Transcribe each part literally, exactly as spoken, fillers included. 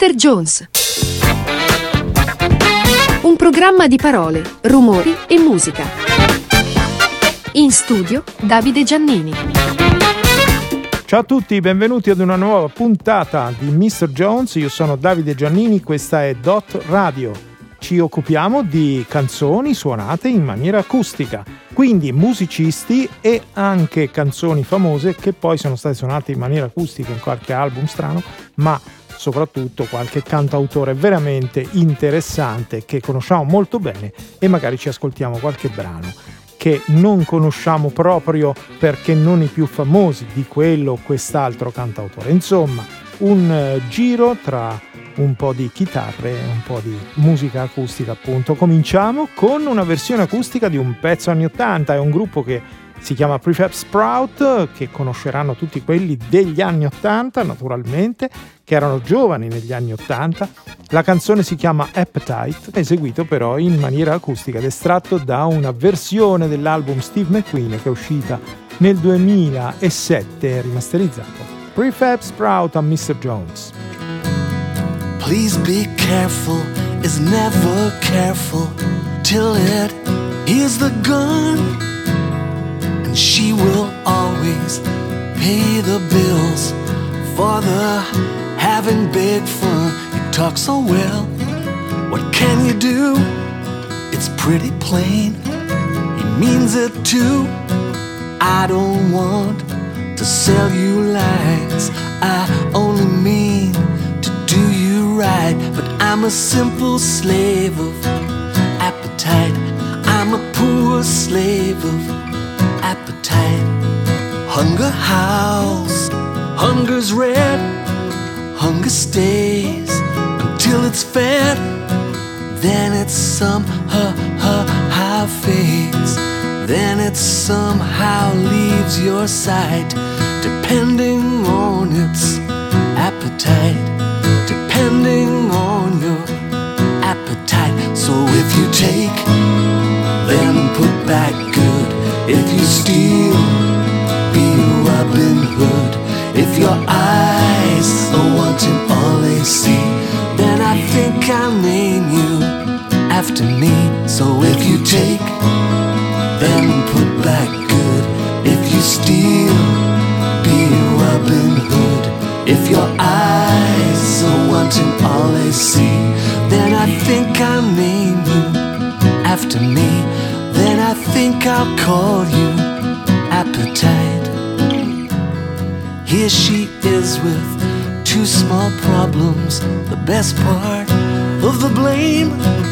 mister Jones. Un programma di parole, rumori e musica. In studio Davide Giannini. Ciao a tutti, benvenuti ad una nuova puntata di mister Jones. Io sono Davide Giannini, questa è Dot Radio. Ci occupiamo di canzoni suonate in maniera acustica, quindi musicisti e anche canzoni famose che poi sono state suonate in maniera acustica in qualche album strano, ma soprattutto qualche cantautore veramente interessante che conosciamo molto bene e magari ci ascoltiamo qualche brano che non conosciamo proprio perché non i più famosi di quello o quest'altro cantautore. Insomma, un uh, giro tra un po' di chitarre e un po' di musica acustica, appunto. Cominciamo con una versione acustica di un pezzo anni ottanta. È un gruppo che si chiama Prefab Sprout, che conosceranno tutti quelli degli anni ottanta, naturalmente, che erano giovani negli anni ottanta. La canzone si chiama Appetite, eseguito però in maniera acustica ed estratto da una versione dell'album Steve McQueen che è uscita nel duemilasette, rimasterizzato. Prefab Sprout a mister Jones. Please be careful, is never careful till it hears the gun. And she will always pay the bills for the having big fun. You talk so well, what can you do? It's pretty plain, he means it too. I don't want to sell you lies, I only mean to do you right. But I'm a simple slave of appetite, I'm a poor slave of appetite. Hunger howls, hunger's red, hunger stays until it's fed. Then it somehow fades, then it somehow leaves your sight, depending on its appetite, depending on your appetite. So if you take, then put back good. If you steal, be Robin Hood. If your eyes are wanting all they see, then I think I'll name you after me. So if you take, then put back good. If you steal, be Robin Hood. If your eyes are wanting all they see, then I think I'll name you after me. Then I think I'll call you Appetite. Here she is with two small problems, the best part of the blame,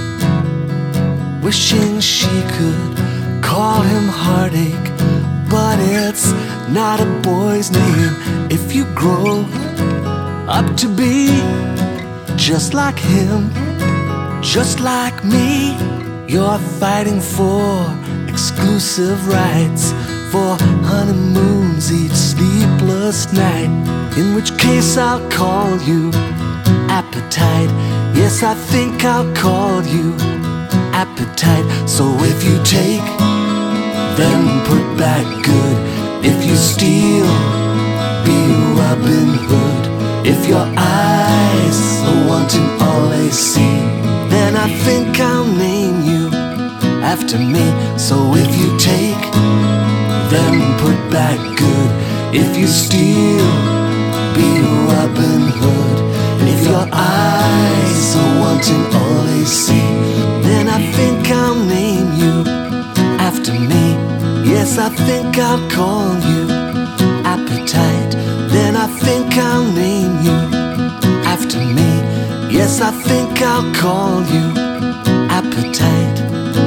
wishing she could call him heartache, but it's not a boy's name. If you grow up to be just like him, just like me, you're fighting for exclusive rights, for honeymoons each sleepless night. In which case I'll call you Appetite. Yes, I think I'll call you Appetite. So if you take, then put back good. If you steal, be Robin Hood. If your eyes are wanting all they see, then I think I'll name you after me. So if you take, then put back good. If you steal, be Robin Hood. If your eyes are wanting all they see, then I think I'll name you after me. Yes, I think I'll call you Appetite. Then I think I'll name you after me. Yes, I think I'll call you Appetite.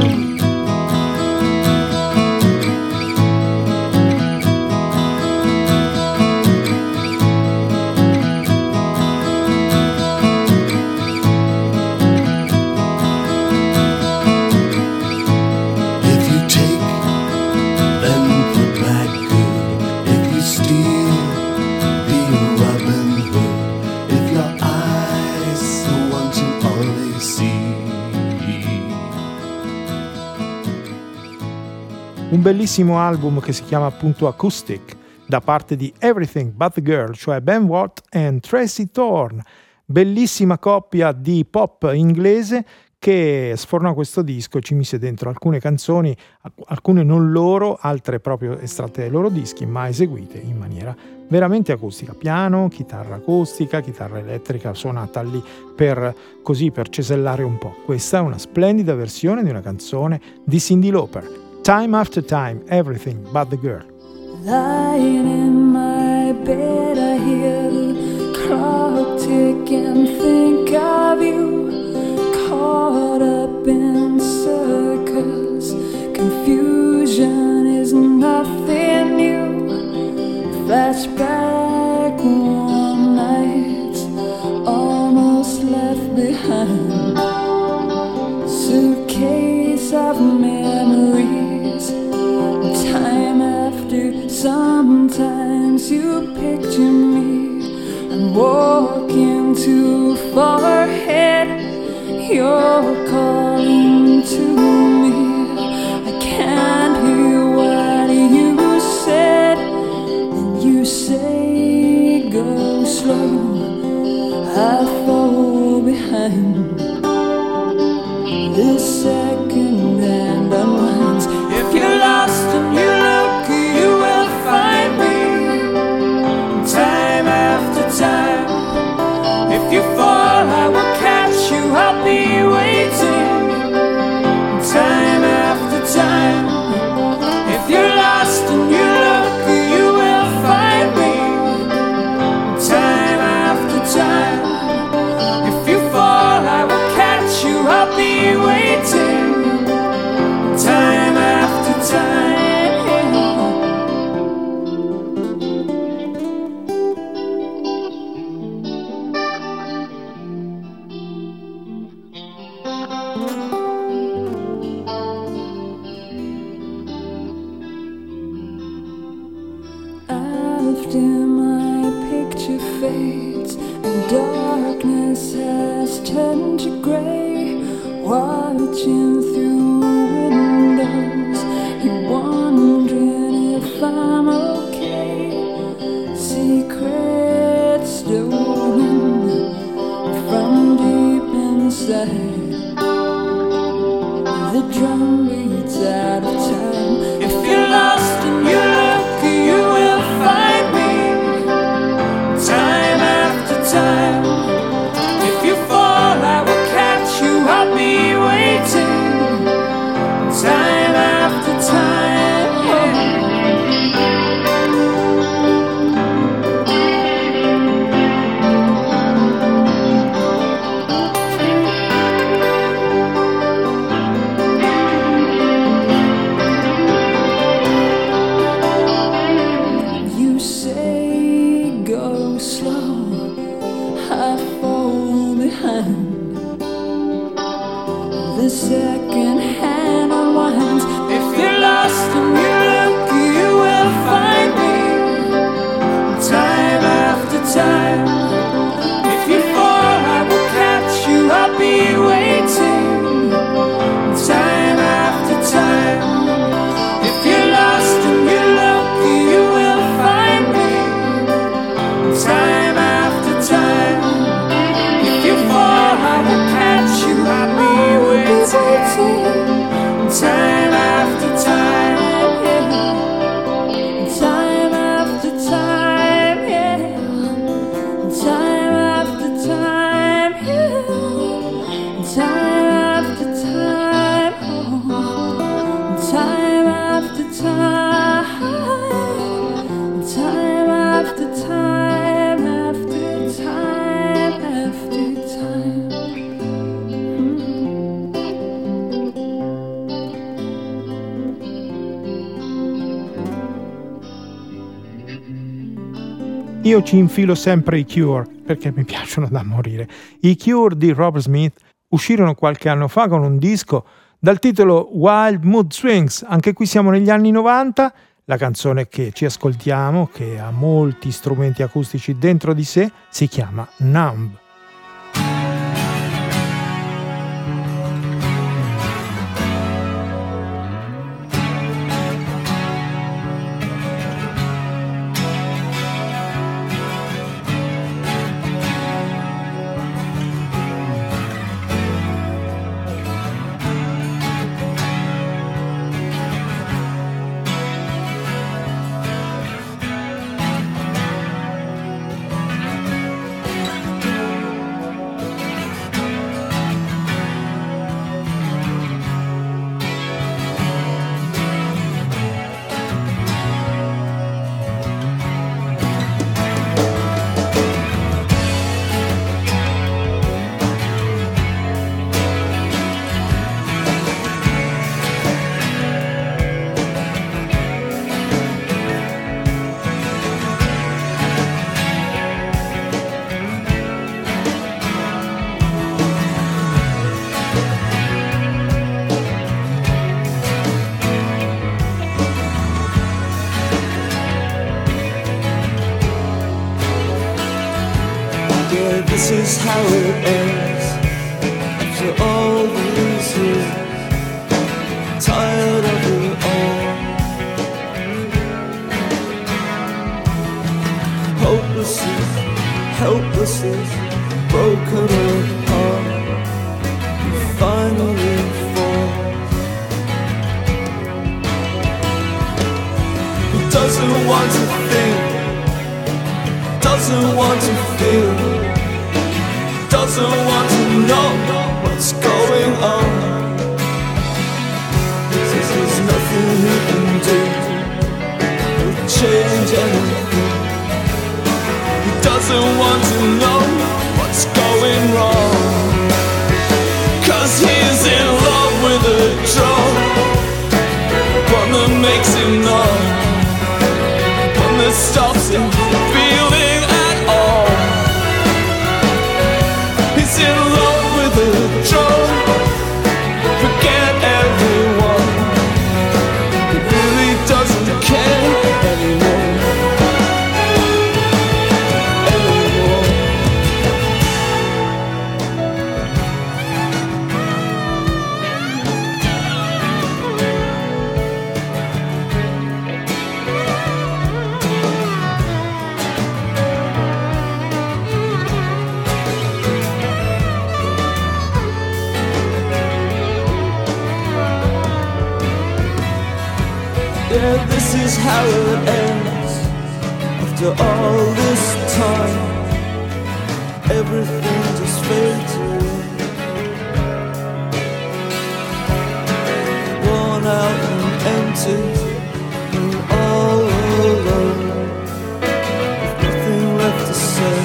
Un bellissimo album che si chiama appunto Acoustic, da parte di Everything But The Girl, cioè Ben Watt e Tracy Thorn. bellissima coppia di pop inglese che sfornò questo disco, ci mise dentro alcune canzoni, alcune non loro, altre proprio estratte dai loro dischi, ma eseguite in maniera veramente acustica, piano, chitarra acustica, chitarra elettrica suonata lì per così per cesellare un po'. Questa è una splendida versione di una canzone di Cyndi Lauper, Time After Time, Everything But the Girl. Lying in my bed I hear the clock tick and think of you, caught up in circles, confusion is nothing new. Flashback warm nights almost left behind, suitcase of memories, time after sometimes you picture me, I'm walking too far ahead, you're calling to me, I can't hear what you said, and you say go slow, I fall behind, this second hand unwinds, if you're lost and you look you will find me, time after time, if you fall I will catch you, I'll be waiting, time after time, if you're lost and you look you will find me, time after time, if you fall I will catch you, I'll be waiting, time after time. After my picture fades and darkness has turned to grey, watching through windows, you're wondering if I'm okay. Secrets stolen from deep inside, the drum beats out of time. If you're lost and you look, you will find me, time after time. If you fall, I will catch you, I'll be waiting, time after time. You say go slow, I fall behind, the second hand unwinds. If you're lost and you look, you will find me, time after time. If you fall, I will catch you, I'll be waiting, time after time. If you're lost and you look, you will find me, time after time. If you fall, I will catch you, I'll be waiting, time after time, yeah. Time after time, yeah. Time after time, yeah. Time after time, oh. Time after time, time after time, after time, after time. Io ci infilo sempre i Cure perché mi piacciono da morire. I Cure di Robert Smith uscirono qualche anno fa con un disco dal titolo Wild Mood Swings. Anche qui siamo negli anni novanta. La canzone che ci ascoltiamo, che ha molti strumenti acustici dentro di sé, si chiama Numb. this is how it ends. After all these years, tired of it all. Hopelessness, helplessness, broken apart, we finally fall. He doesn't want to think, doesn't want to feel, doesn't want to know what's going on. Says there's nothing he can do to change anything. He doesn't want to know what's going wrong, 'cause he's in love with a drug, one that makes him numb, one that stops him feeling at all. He's in love with a drug, forget everyone, he really doesn't care anymore. Yeah, this is how it ends. After all this time, everything just fades away. Worn out and empty, and all alone, with nothing left to say.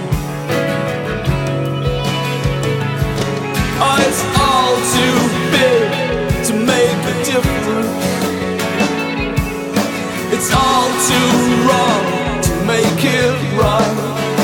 Oh, it's all too big to make a difference. It's all too wrong to make it right.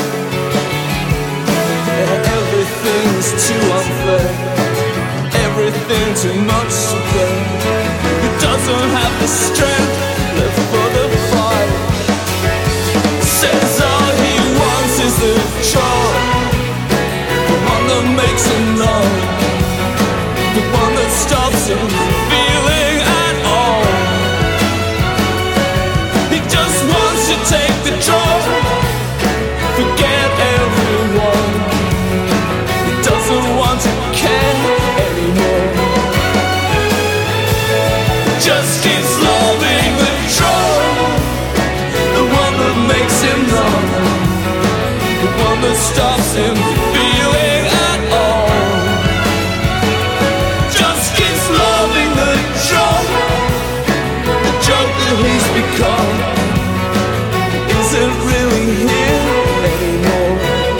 Everything's too unfair, everything too much to bear. He doesn't have the strength left for the fight. Says all he wants is the drug, the one that makes him numb, the one that stops him feeling at all. Take the drug, forget everyone. He doesn't want to care anymore. Just keeps loving the drug, the one that makes him numb, the one that stops him feeling at all. Just keeps loving the drug, the drug that he's become. Isn't really here anymore,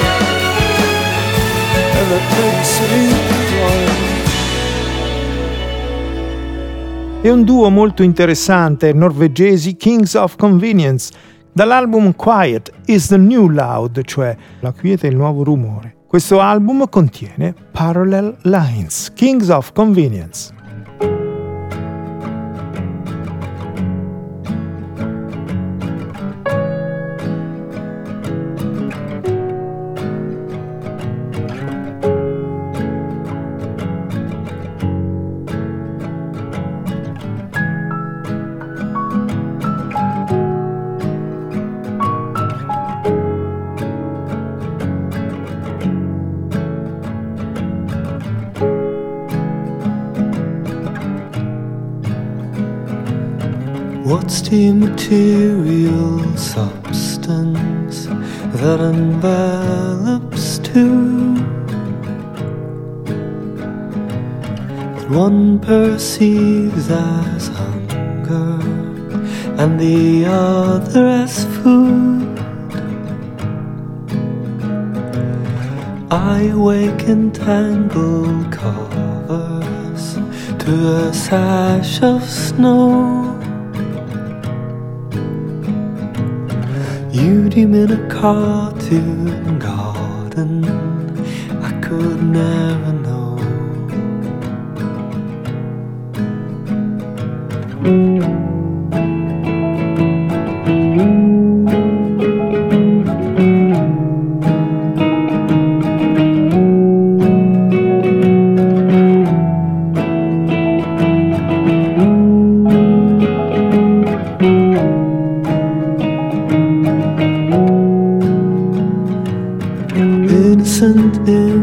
and that makes me cry. È un duo molto interessante, norvegesi, Kings of Convenience, dall'album Quiet is the New Loud, cioè la quiete è il nuovo rumore. Questo album contiene Parallel Lines, Kings of Convenience. What's the material substance that envelops two, that one perceives as hunger and the other as food? I wake in tangled covers to a sash of snow. You dream in a cartoon garden I could never know. innocent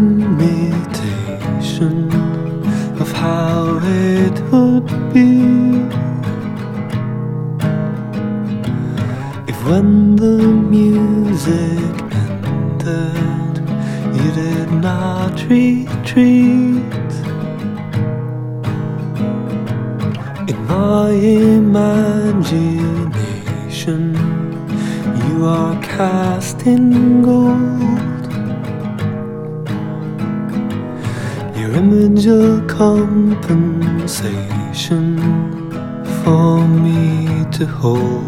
imitation of how it would be if when the music ended you did not retreat. In my imagination you are cast in gold, your image a compensation for me to hold.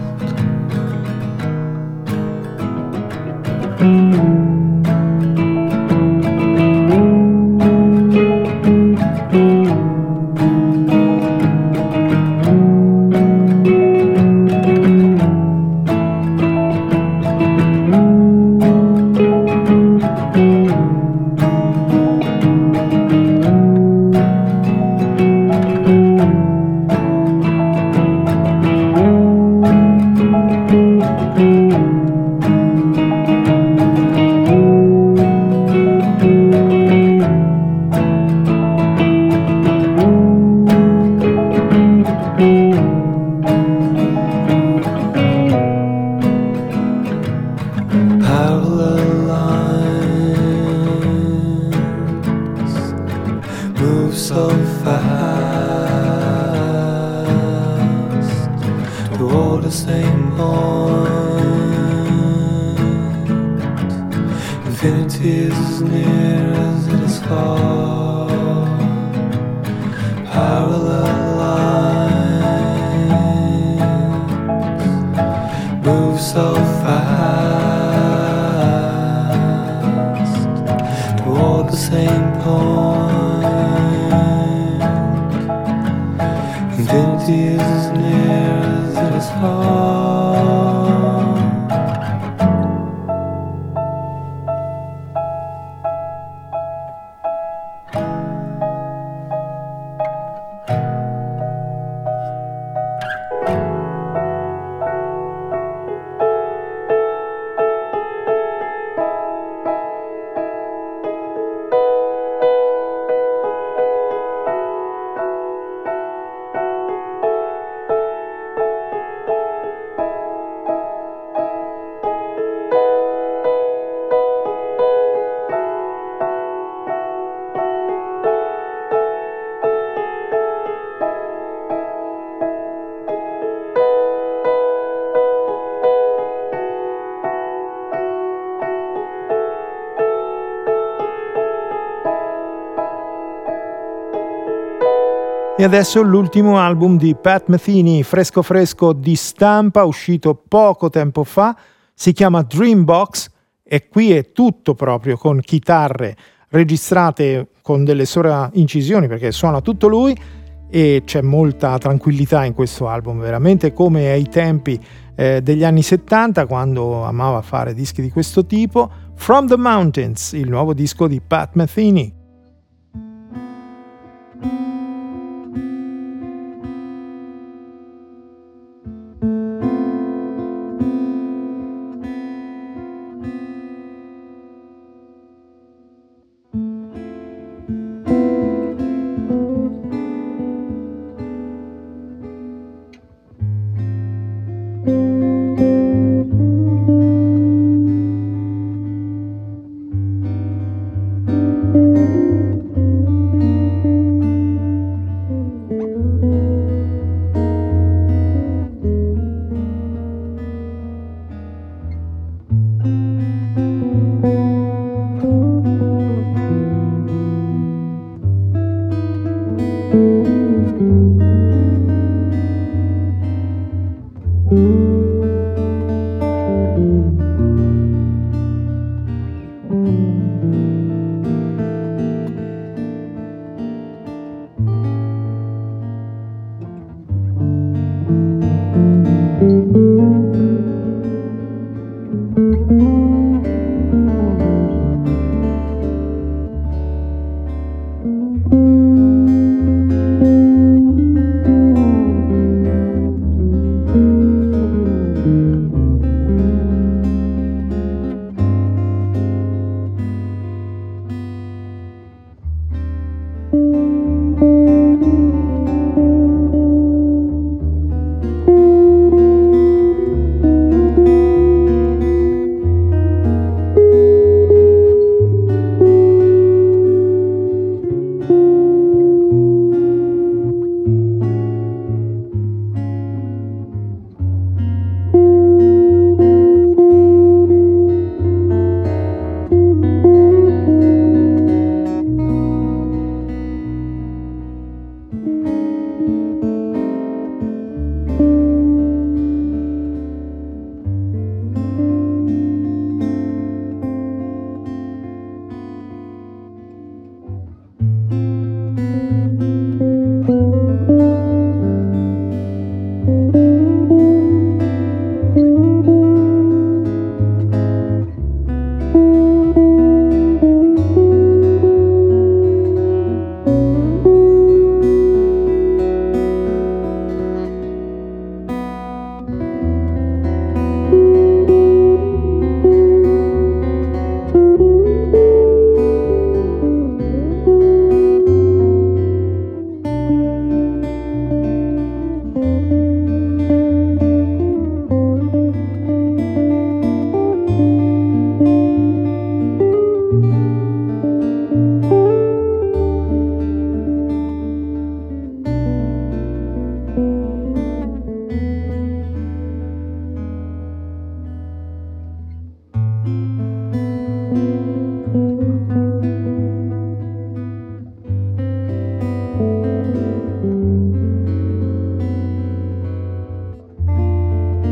E adesso l'ultimo album di Pat Metheny, fresco fresco di stampa, uscito poco tempo fa, si chiama Dreambox e qui è tutto proprio con chitarre registrate con delle sovraincisioni perché suona tutto lui e c'è molta tranquillità in questo album, veramente come ai tempi eh, degli anni settanta quando amava fare dischi di questo tipo. From the Mountains, il nuovo disco di Pat Metheny.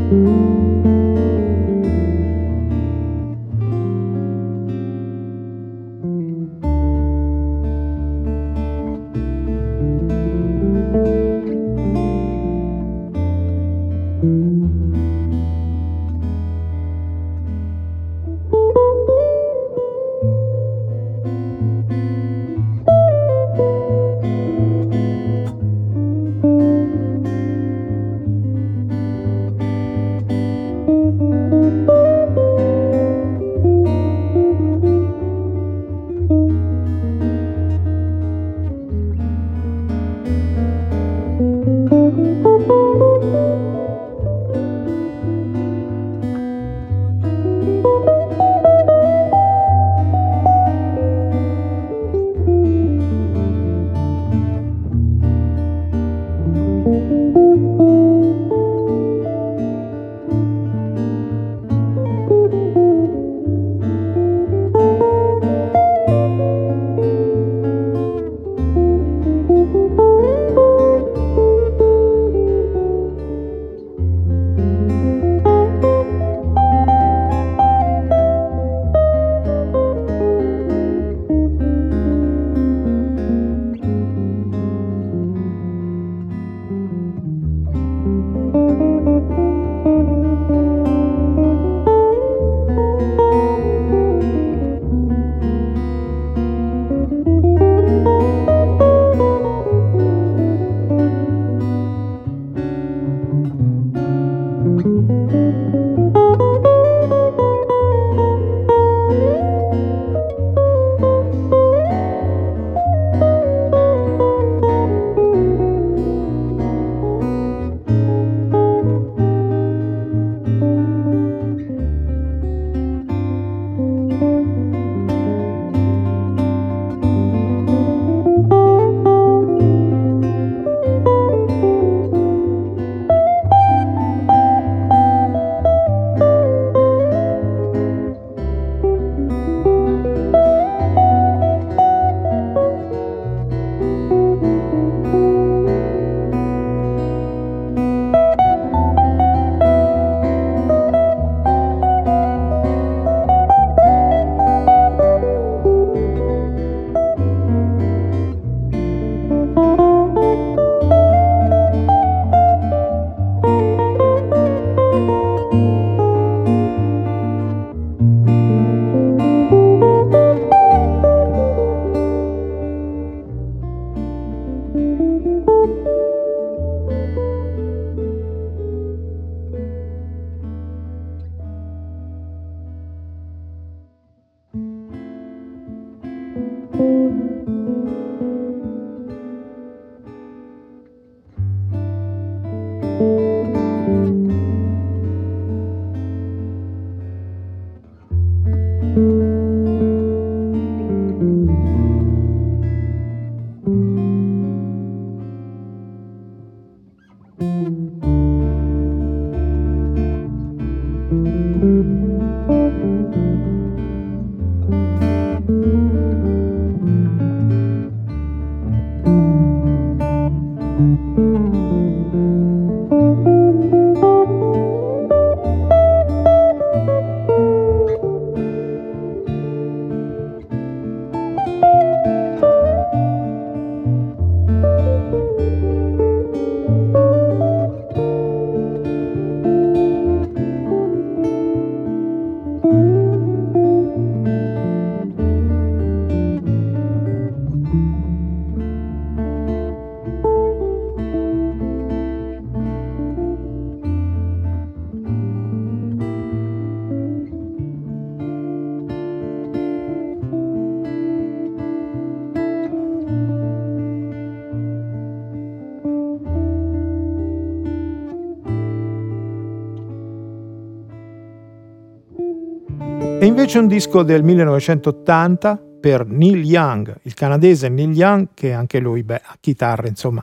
E invece un disco del millenovecentottanta per Neil Young, il canadese Neil Young, che anche lui, beh, a chitarra, insomma,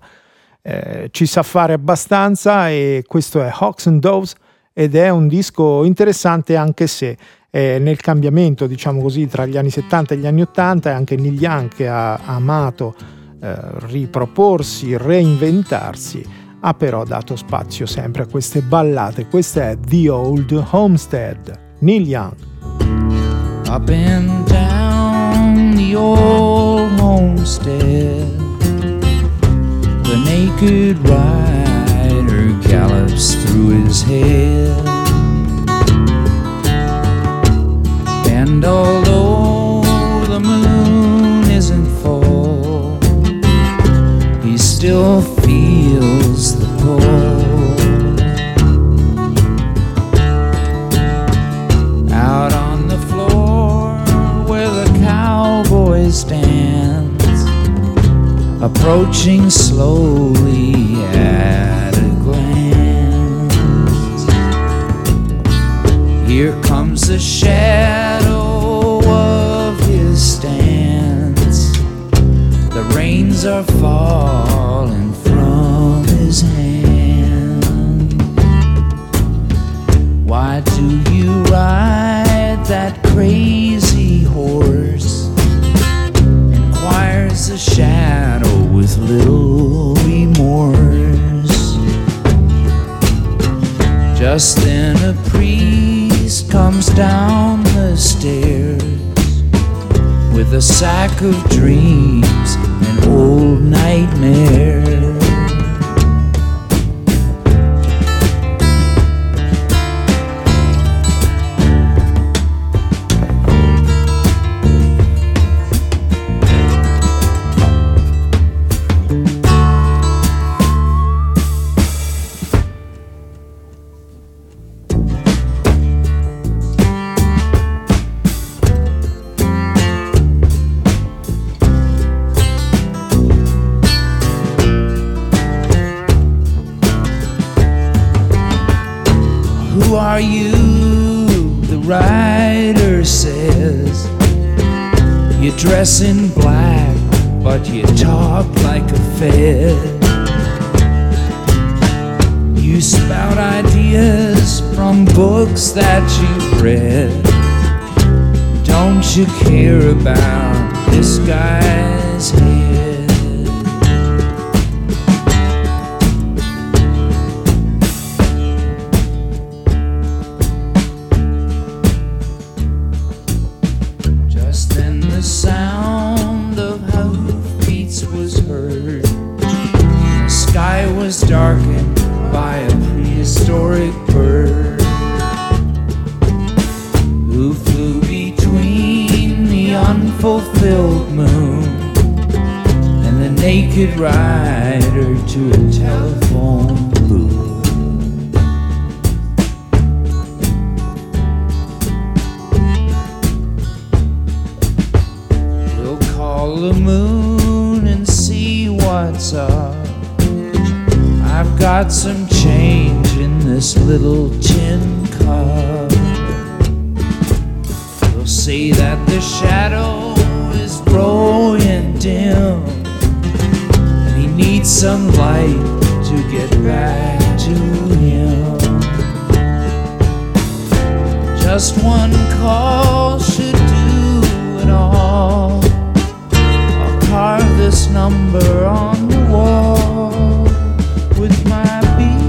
eh, ci sa fare abbastanza, e questo è Hawks and Doves, ed è un disco interessante anche se eh, nel cambiamento, diciamo così, tra gli anni settanta e gli anni ottanta, è anche Neil Young che ha amato eh, riproporsi, reinventarsi, ha però dato spazio sempre a queste ballate. Questa è The Old Homestead, Neil Young. Up and down the old homestead, the naked rider gallops through his head. And although the moon isn't full, he still feels the pull. Out on the floor where the cowboy stands, approaching slowly at a glance, here comes the shadow of his stance. The reins are falling from his hand. Why do you ride that crazy horse? Inquires the shadow with little remorse. Just then a priest comes down the stairs with a sack of dreams and old nightmares. Who are you? The rider says. You dress in black, but you talk like a fed. You spout ideas from books that you've read. Don't you care about this guy's head? The sound of hoofbeats was heard. The sky was darkened by a prehistoric bird who flew between the unfulfilled moon and the naked rider to a telephone booth. The moon and see what's up. I've got some change in this little tin cup. They'll say that the shadow is growing dim and he needs some light to get back to him. Just one call should do it all. Carve this number on the wall with my beat.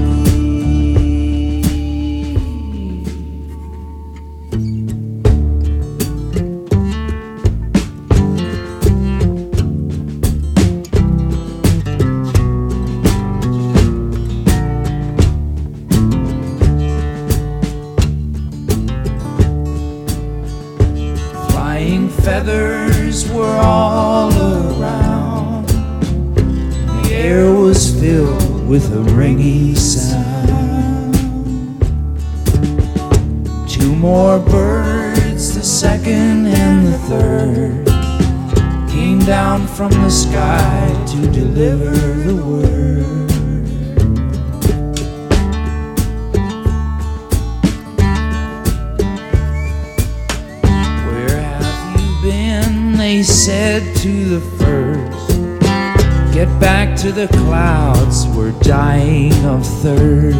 Flying feathers were all around. The air was filled with a ringing sound. Two more birds, the second and the third, came down from the sky to deliver the word. They said to the first, get back to the clouds, we're dying of thirst.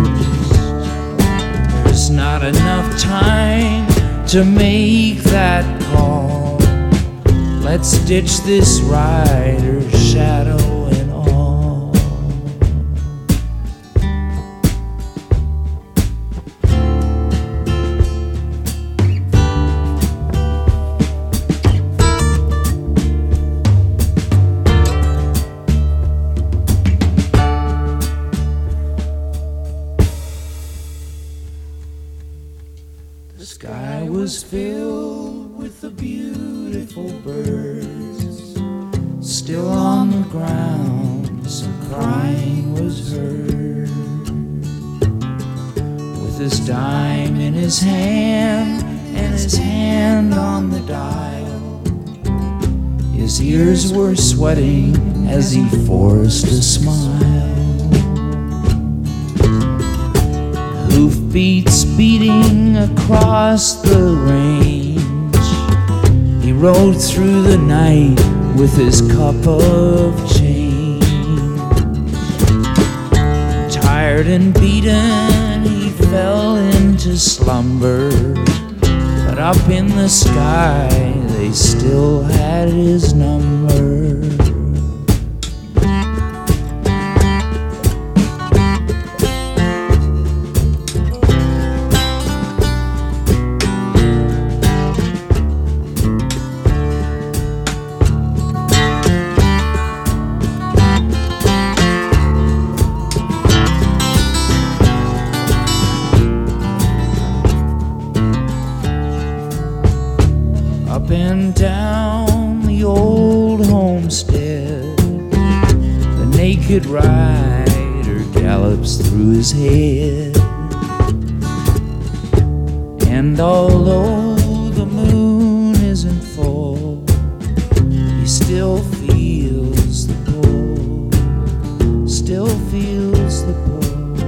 There's not enough time to make that call. Let's ditch this rider's shadow and all. sky was filled with the beautiful birds. Still on the ground, some crying was heard. With his dime in his hand and his hand on the dial, his ears were sweating as he forced a smile. Hoofbeats beating across the range, he rode through the night with his cup of change. Tired and beaten, he fell into slumber, but up in the sky they still had his number. Up and down the old homestead, the naked rider gallops through his head. And although the moon isn't full, he still feels the pull, still feels the pull.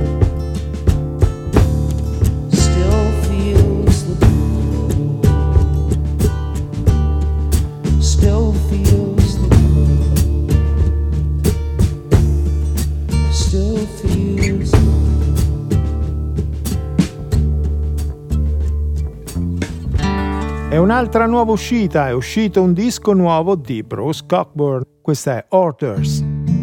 Still feels the pull, still feels the È un'altra nuova uscita, è uscito un disco nuovo di Bruce Cockburn, questa è Orders.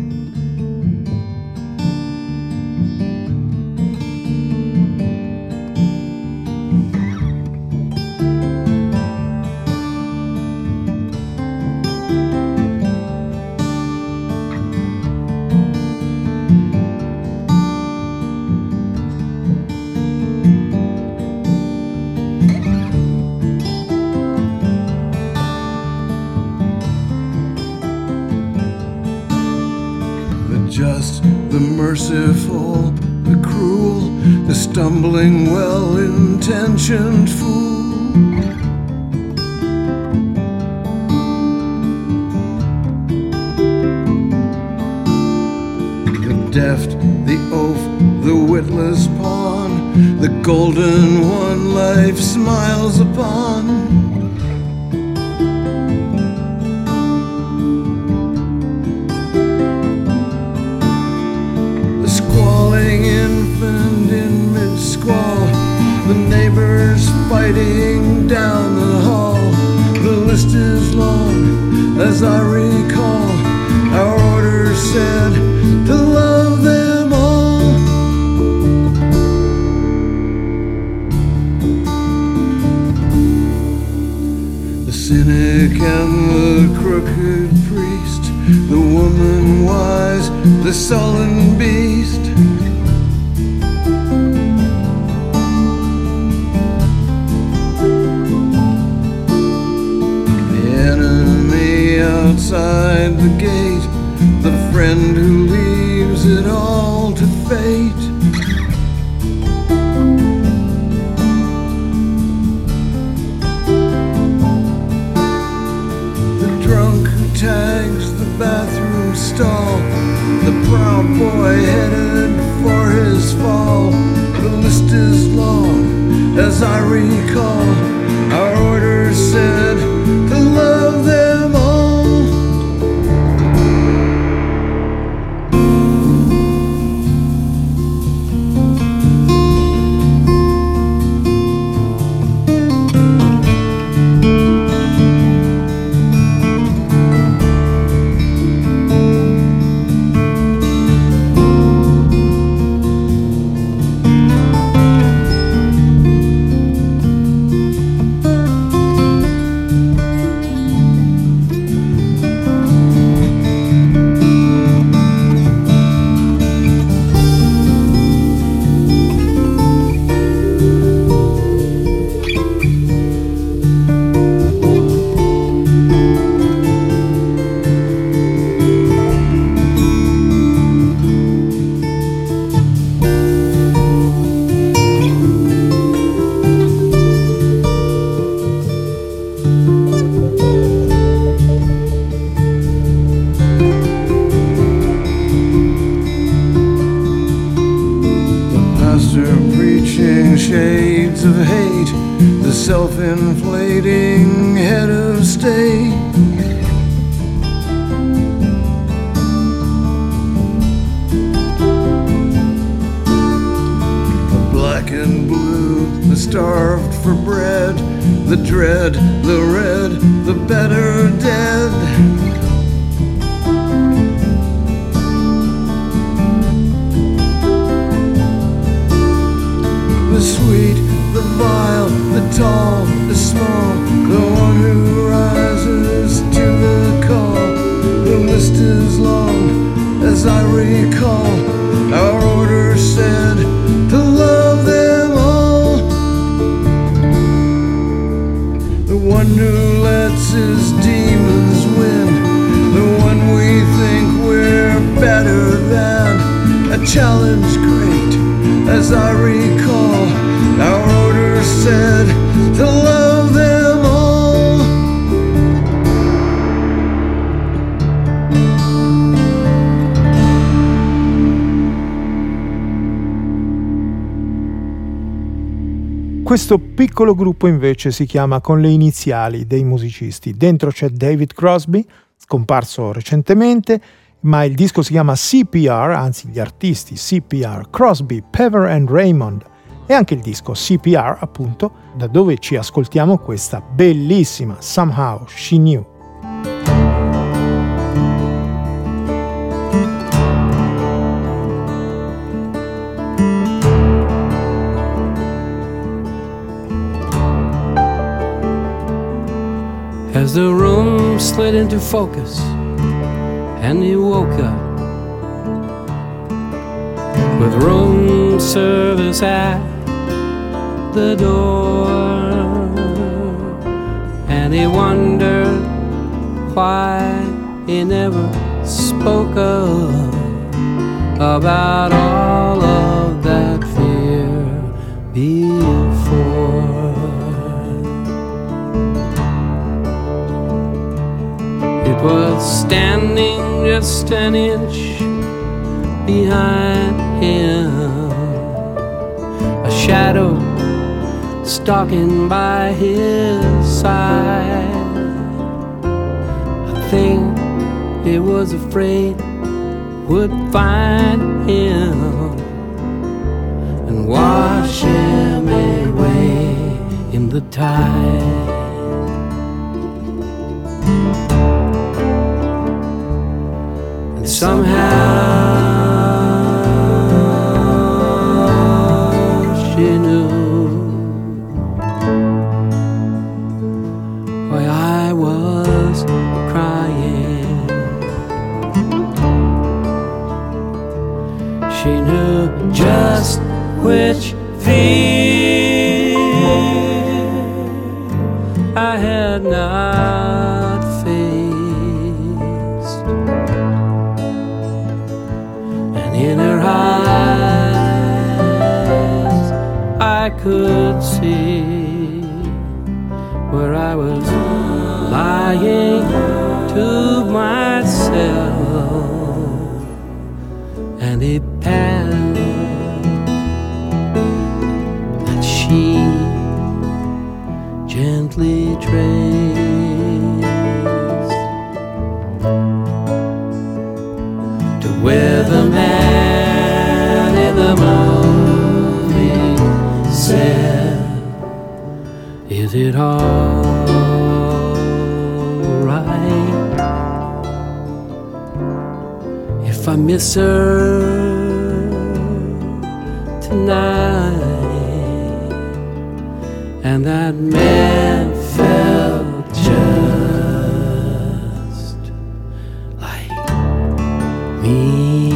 Just, the merciful, the cruel, the stumbling, well-intentioned fool. The deft, the oaf, the witless pawn, the golden one life smiles upon. Infant in mid-squall, the neighbors fighting down the hall. The list is long, as I recall. Our order said to love them all. The cynic and the crooked priest, the woman wise, the sullen beast. Outside the gate, the friend who leaves it all to fate. The drunk who tags the bathroom stall, the proud boy headed for his fall. The list is long, as I recall. Our order said to love them all. shades of hate, the self-inflating head of state. The black and blue, the starved for bread, the dread, the red, the better dead. The sweet, the vile, the tall, the small, the one who rises to the call. The list is long, as I recall. Our order said to love them all. The one who lets his demons win, the one we think we're better than. A challenge great, as I recall, our order said to love them all. Questo piccolo gruppo invece si chiama con le iniziali dei musicisti. Dentro c'è David Crosby, scomparso recentemente, ma il disco si chiama C P R, anzi gli artisti C P R, Crosby, Pever and Raymond, e anche il disco C P R, appunto, da dove ci ascoltiamo questa bellissima Somehow She Knew. As the room slid into focus and he woke up with room service at the door, and he wondered why he never spoke up about all of that fear before. It was standing just an inch behind him, a shadow stalking by his side, a thing he was afraid would find him and wash him away in the tide. And somehow she knew why I was crying. She knew just which fear I had not faced, and in her eyes I could see where I was lying to myself, and it passed that she gently traced to where the man in the movie said, "Is it all right if I miss her tonight?" And that man felt just like me.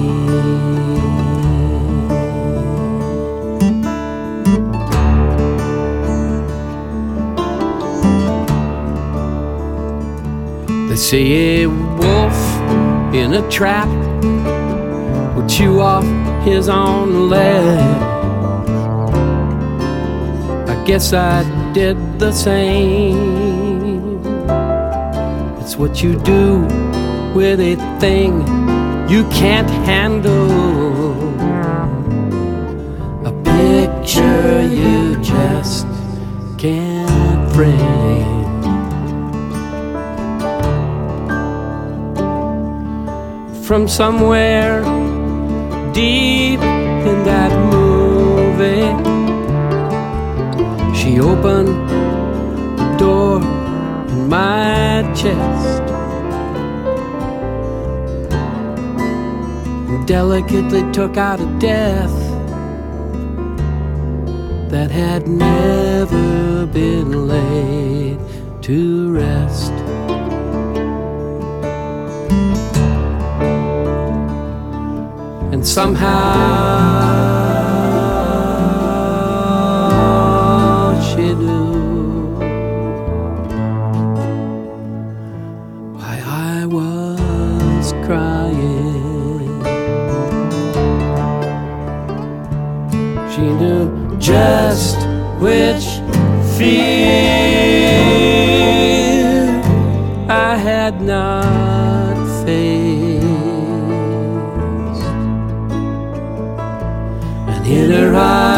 They say a wolf in a trap will chew off his own leg. I guess I did the same. It's what you do with a thing you can't handle, a picture from somewhere deep in that movie. She opened the door in my chest and delicately took out a death that had never been laid to rest. And somehow she knew why I was crying. She knew just which fear I had not faced. In her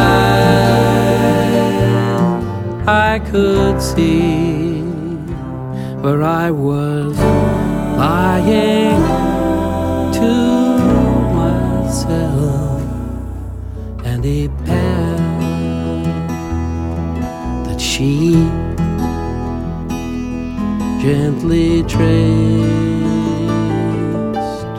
eyes I could see where I was lying to myself, and a path that she gently traced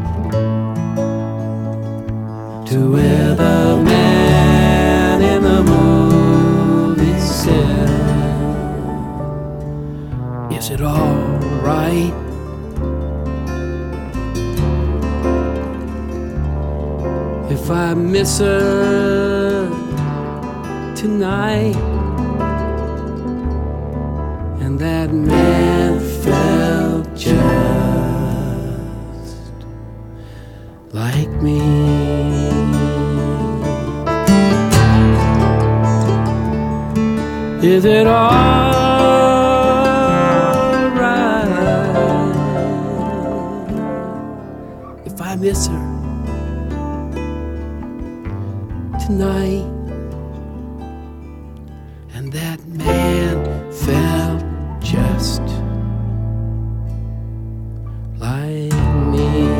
to where the man in the movie said, "Is it all right? If I miss her tonight?" And that man felt just like me. Is it all right if I miss her tonight? And that man felt just like me.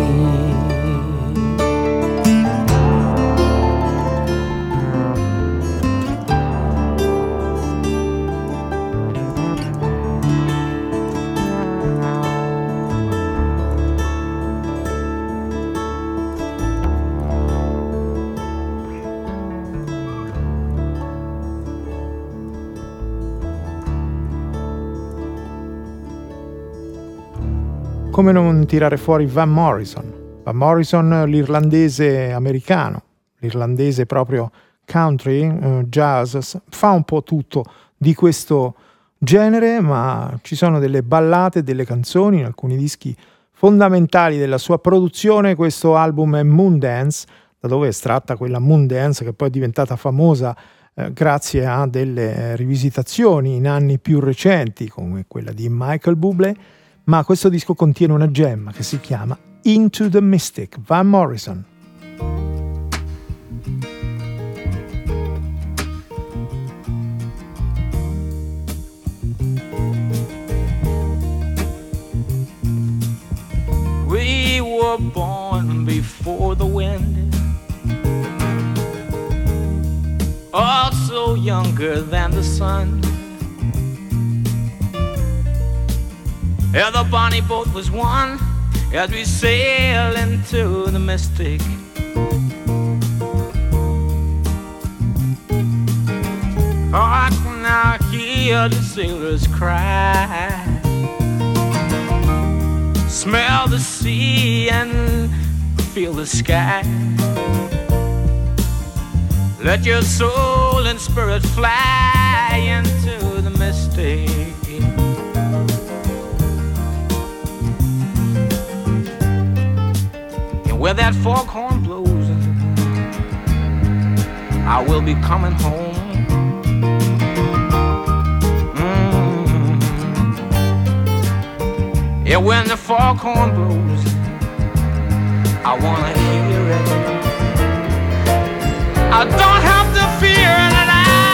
Come non tirare fuori Van Morrison? Van Morrison, l'irlandese americano, l'irlandese proprio country, eh, jazz, fa un po' tutto di questo genere, ma ci sono delle ballate, delle canzoni in alcuni dischi fondamentali della sua produzione. Questo album è Moondance, da dove è estratta quella Moondance che poi è diventata famosa eh, grazie a delle rivisitazioni in anni più recenti, come quella di Michael Bublé. Ma questo disco contiene una gemma che si chiama Into the Mystic, Van Morrison. We were born before the wind, also younger than the sun. Yeah, the bonnie boat was one as we sail into the mystic. Oh, I can now hear the sailors cry, smell the sea and feel the sky. Let your soul and spirit fly into the mystic. Where that foghorn blows, I will be coming home. Mm-hmm. Yeah, when the foghorn blows, I wanna hear it. I don't have to fear it, and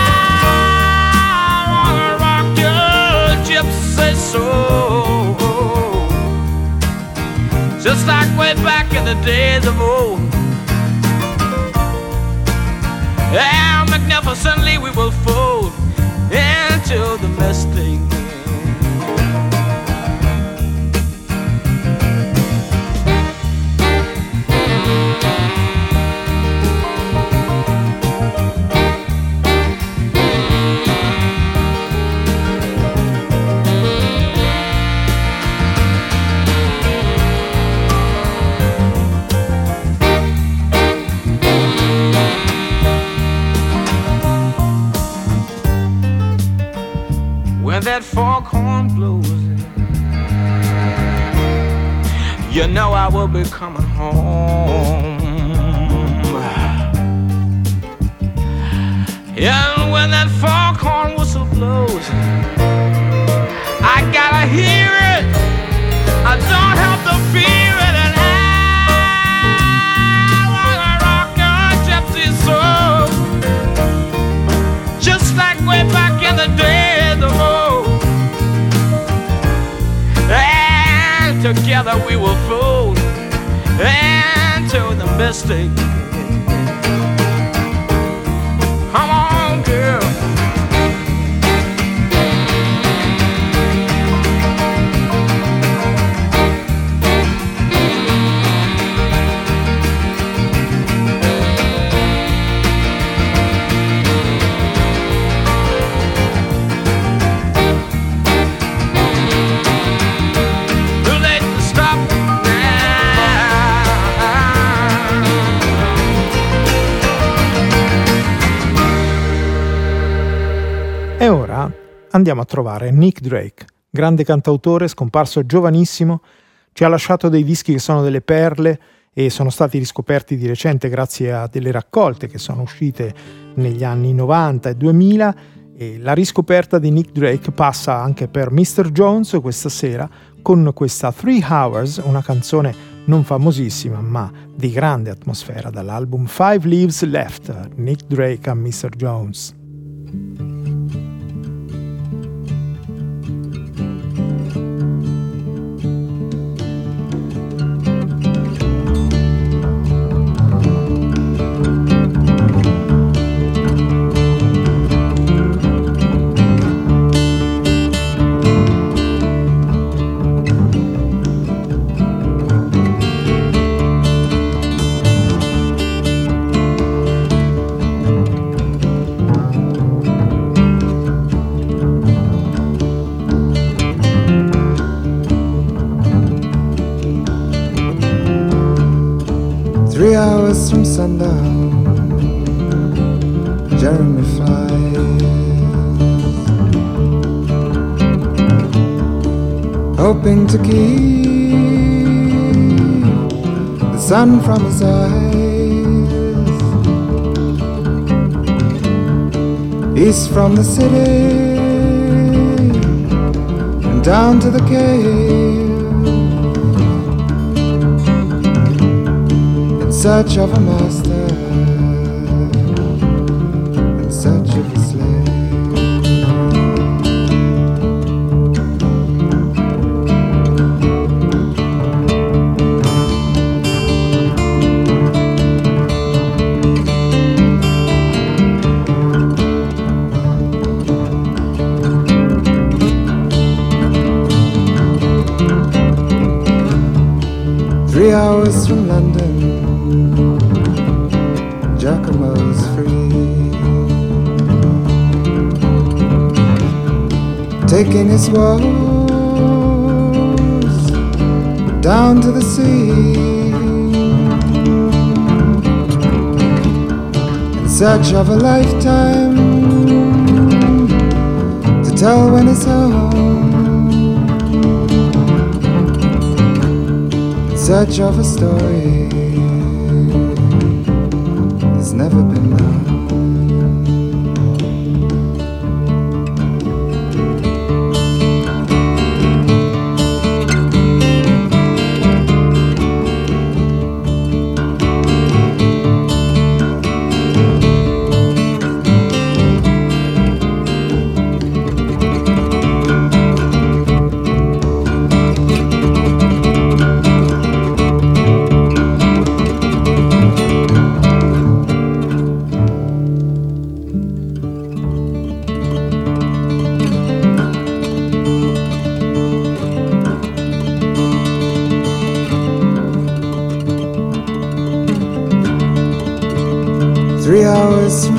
I wanna rock your gypsy soul, just like way back in in the days of old. And magnificently we will fold into the mystic. When that foghorn blows, you know I will be coming home. And when that foghorn whistle blows, I gotta hear it, I don't have to fear it. And I wanna rock your gypsy soul, just like way back in the days of old. And together we will fold into the mystic. Come on, girl. E ora andiamo a trovare Nick Drake, grande cantautore scomparso giovanissimo, ci ha lasciato dei dischi che sono delle perle e sono stati riscoperti di recente grazie a delle raccolte che sono uscite negli anni novanta e duemila, e la riscoperta di Nick Drake passa anche per mister Jones questa sera con questa Three Hours, una canzone non famosissima ma di grande atmosfera dall'album Five Leaves Left, Nick Drake a mister Jones. Three hours from sundown, Jeremy flies, hoping to keep the sun from his eyes. East from the city and down to the cave, in search of a master, in search of a slave. Three hours from London, Giacomo's free, taking his woes down to the sea, in search of a lifetime to tell when he's home, in search of a story that's never been known.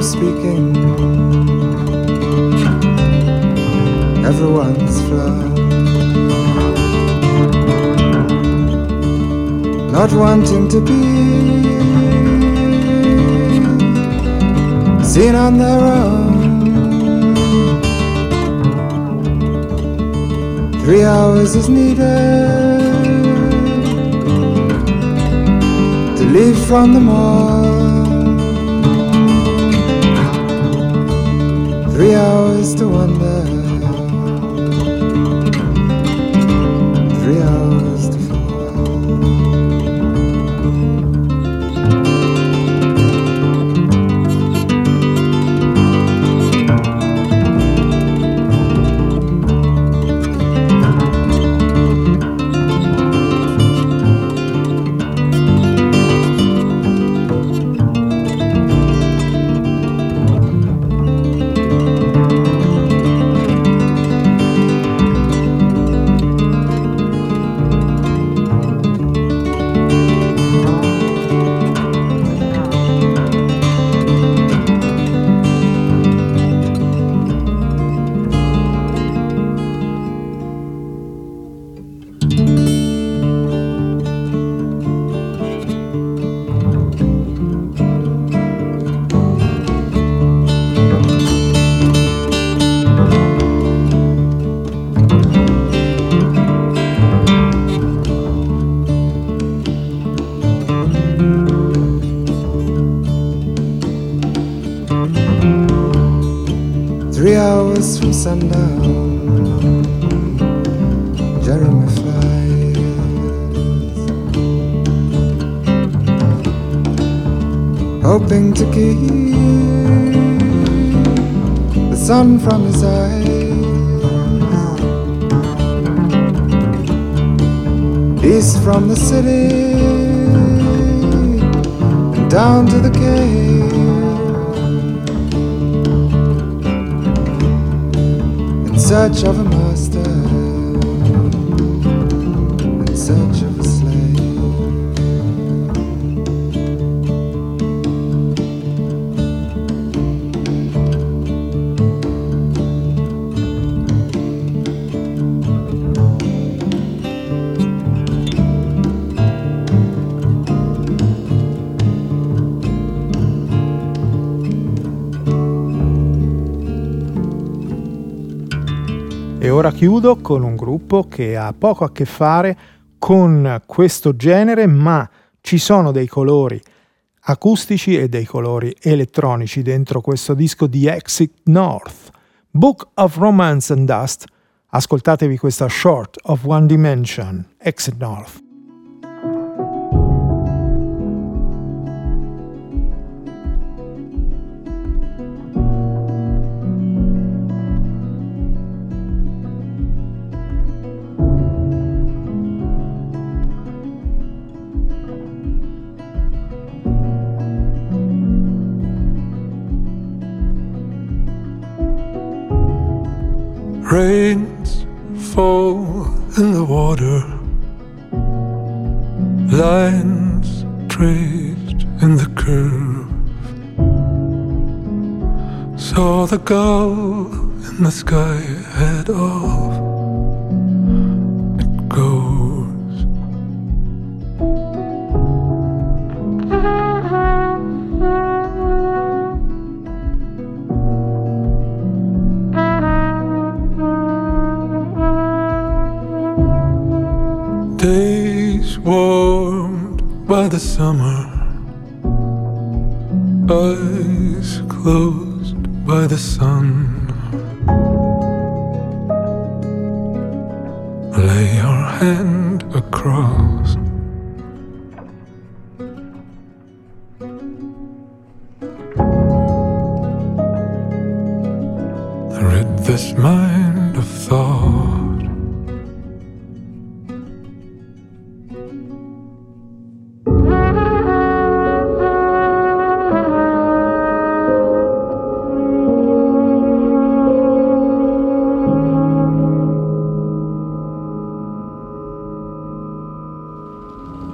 speaking, everyone's flawed. Not wanting to be seen on their own. Three hours is needed to leave from the mall. Three hours to wonder. Three hours to fall. Three hours from sundown, Jeremy flies, hoping to keep the sun from his eyes. East from the city and down to the cave. In search of a master, in search of a slave. E ora chiudo con un gruppo che ha poco a che fare con questo genere, ma ci sono dei colori acustici e dei colori elettronici dentro questo disco di Exit North. Book of Romance and Dust. Ascoltatevi questa Short of One Dimension, Exit North. Rains fall in the water, lines traced in the curve. Saw the gull in the sky head off. It goes. Days warmed by the summer, eyes closed by the sun. Lay your hand across. Rid this mind of thought.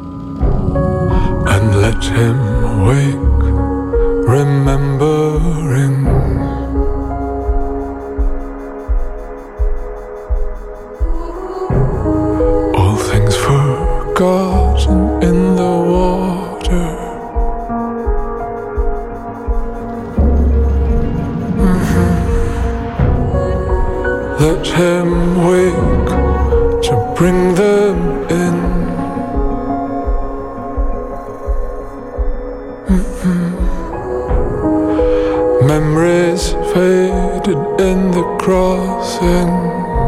Him wake, remember let him wake to bring them in. Mm-hmm. Memories faded in the crossing.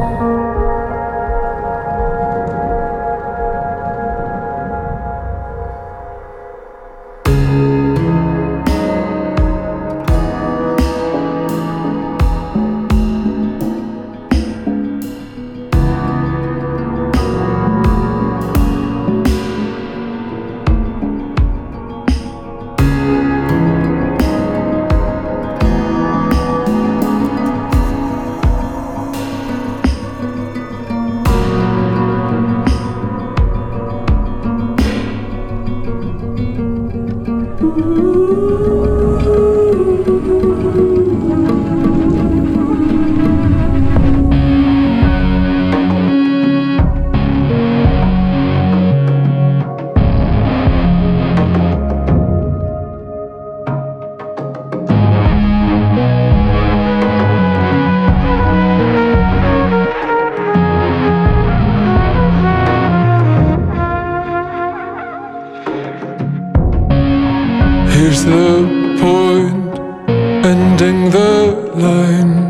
Here's the point, ending the line.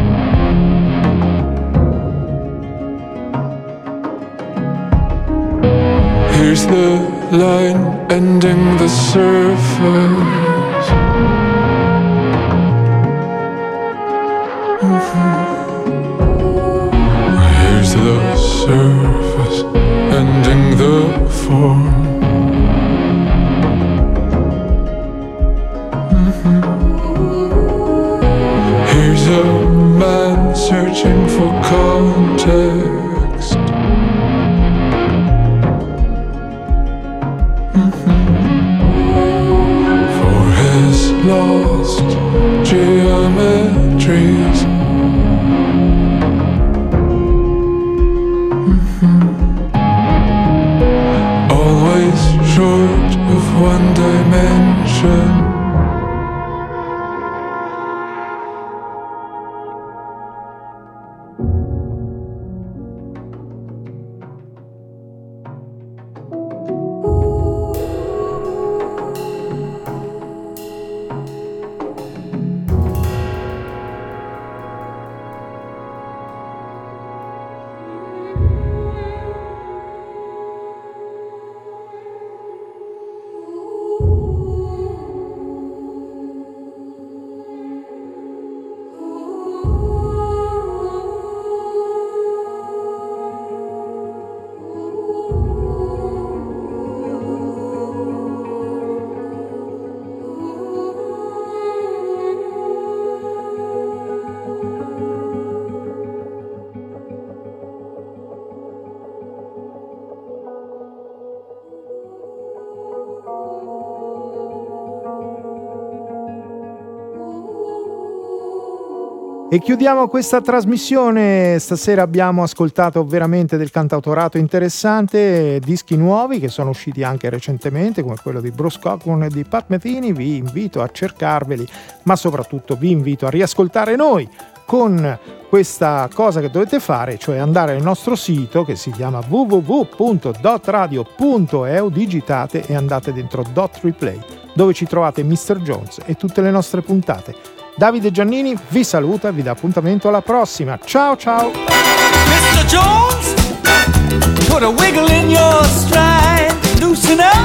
Here's the line, ending the surface. Mm-hmm. Here's the surface, ending the form. Here's a man searching for context. Mm-hmm. For his lost geometries. Mm-hmm. Always short of one dimension. E chiudiamo questa trasmissione. Stasera abbiamo ascoltato veramente del cantautorato interessante, dischi nuovi che sono usciti anche recentemente, come quello di Bruce Cockburn e di Pat Metheny. Vi invito a cercarveli, ma soprattutto vi invito a riascoltare noi con questa cosa che dovete fare, cioè andare nel nostro sito che si chiama w w w punto dot radio punto e u, digitate e andate dentro Dot Replay, dove ci trovate mister Jones e tutte le nostre puntate. Davide Giannini vi saluta e vi dà appuntamento alla prossima. Ciao ciao! mister Jones, put a wiggle in your stride, loosen up.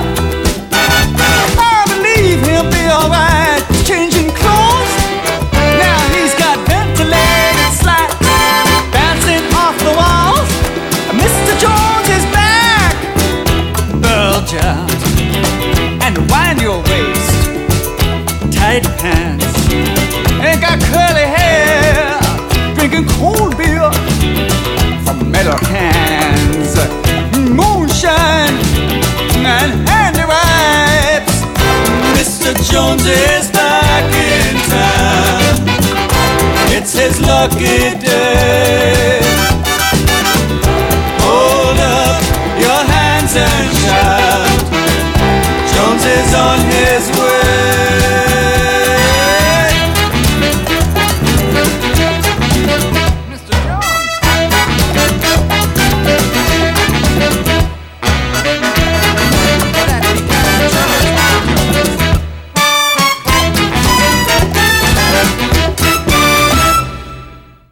I believe he'll be alright. Changing clothes, now he's got ventilated slats bouncing off the walls. mister Jones is back. Bulge out and wind your waist, tight pants. Ain't got curly hair, drinking cold beer from metal cans, moonshine and handy wipes. mister Jones is back in town. It's his lucky day.